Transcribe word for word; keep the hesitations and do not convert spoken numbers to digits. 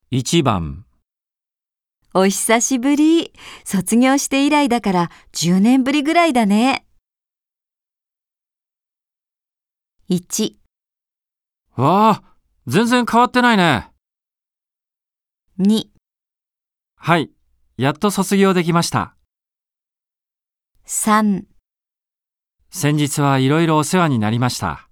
いちばん、 お久しぶり。卒業して以来だからじゅうねんぶりぐらいだね。いち、 わあ、全然変わってないね。 に、 はい、やっと卒業できました。 さん、 先日はいろいろお世話になりました。